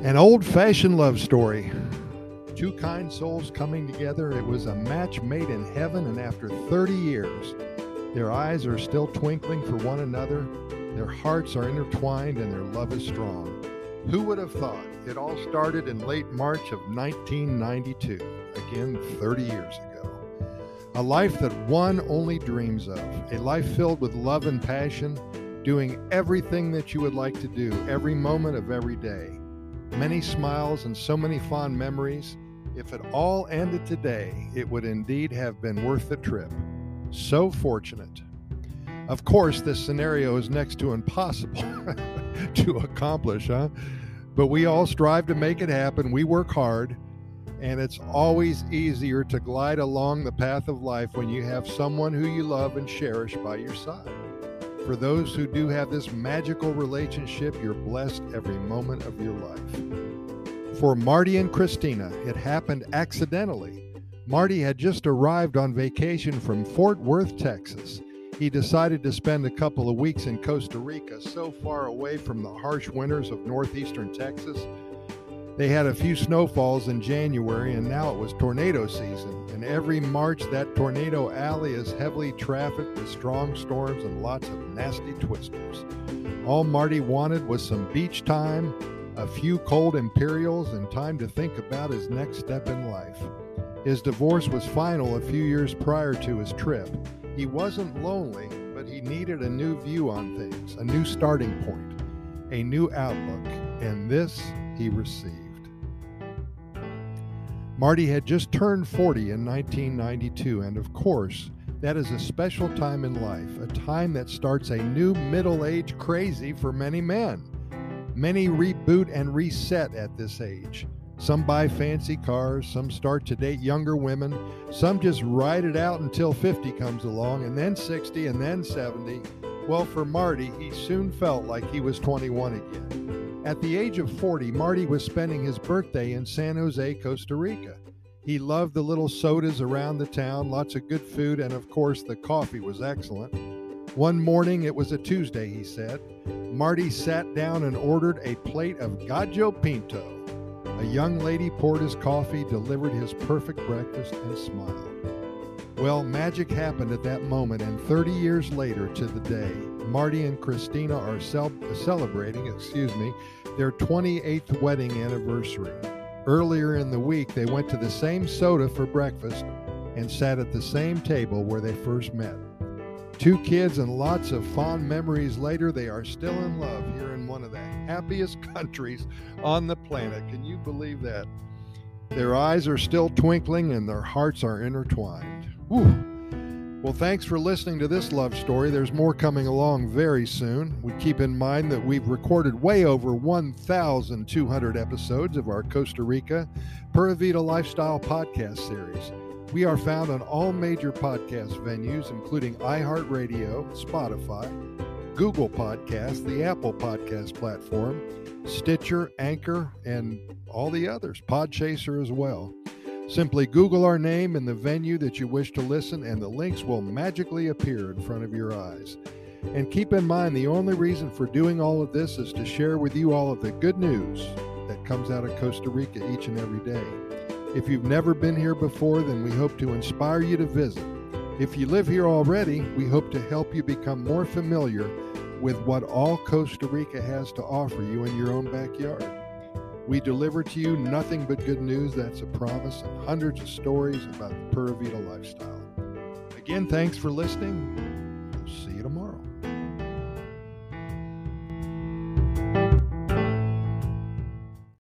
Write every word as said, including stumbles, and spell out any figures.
An old-fashioned love story. Two kind souls coming together. It was a match made in heaven, and after thirty years, their eyes are still twinkling for one another. Their hearts are intertwined, and their love is strong. Who would have thought? It all started in late March of nineteen ninety-two, again thirty years ago. A life that one only dreams of, a life filled with love and passion, doing everything that you would like to do, every moment of every day. Many smiles and so many fond memories. If it all ended today, it would indeed have been worth the trip. So fortunate. Of course, this scenario is next to impossible to accomplish, huh? But we all strive to make it happen. We work hard, and it's always easier to glide along the path of life when you have someone who you love and cherish by your side. For those who do have this magical relationship, you're blessed every moment of your life. For Marty and Christina, it happened accidentally. Marty had just arrived on vacation from Fort Worth, Texas. He decided to spend a couple of weeks in Costa Rica, so far away from the harsh winters of northeastern Texas. They had a few snowfalls in January, and now it was tornado season. And every March, that tornado alley is heavily trafficked with strong storms and lots of nasty twisters. All Marty wanted was some beach time, a few cold Imperials, and time to think about his next step in life. His divorce was final a few years prior to his trip. He wasn't lonely, but he needed a new view on things, a new starting point, a new outlook, and this he received. Marty had just turned forty in nineteen ninety-two, and of course, that is a special time in life, a time that starts a new middle-age crazy for many men. Many reboot and reset at this age. Some buy fancy cars, some start to date younger women, some just ride it out until fifty comes along, and then sixty, and then seventy. Well, for Marty, he soon felt like he was twenty-one again. At the age of forty, Marty was spending his birthday in San Jose, Costa Rica. He loved the little sodas around the town, lots of good food, and of course the coffee was excellent. One morning, it was a Tuesday, he said, Marty sat down and ordered a plate of Gallo Pinto. A young lady poured his coffee, delivered his perfect breakfast, and smiled. Well, magic happened at that moment, and thirty years later to the day, Marty and Christina are cel- celebrating, excuse me, their twenty-eighth wedding anniversary. Earlier in the week, they went to the same soda for breakfast and sat at the same table where they first met. Two kids and lots of fond memories later, they are still in love here in one of the happiest countries on the planet. Can you believe that? Their eyes are still twinkling and their hearts are intertwined. Whew. Well, thanks for listening to this love story. There's more coming along very soon. We keep in mind that we've recorded way over one thousand two hundred episodes of our Costa Rica Pura Vida Lifestyle podcast series. We are found on all major podcast venues, including iHeartRadio, Spotify, Google Podcasts, the Apple Podcast platform, Stitcher, Anchor, and all the others, Podchaser as well. Simply Google our name and the venue that you wish to listen, and the links will magically appear in front of your eyes. And keep in mind, the only reason for doing all of this is to share with you all of the good news that comes out of Costa Rica each and every day. If you've never been here before, then we hope to inspire you to visit. If you live here already, we hope to help you become more familiar with what all Costa Rica has to offer you in your own backyard. We deliver to you nothing but good news, that's a promise, and hundreds of stories about the Pura Vida lifestyle. Again, thanks for listening.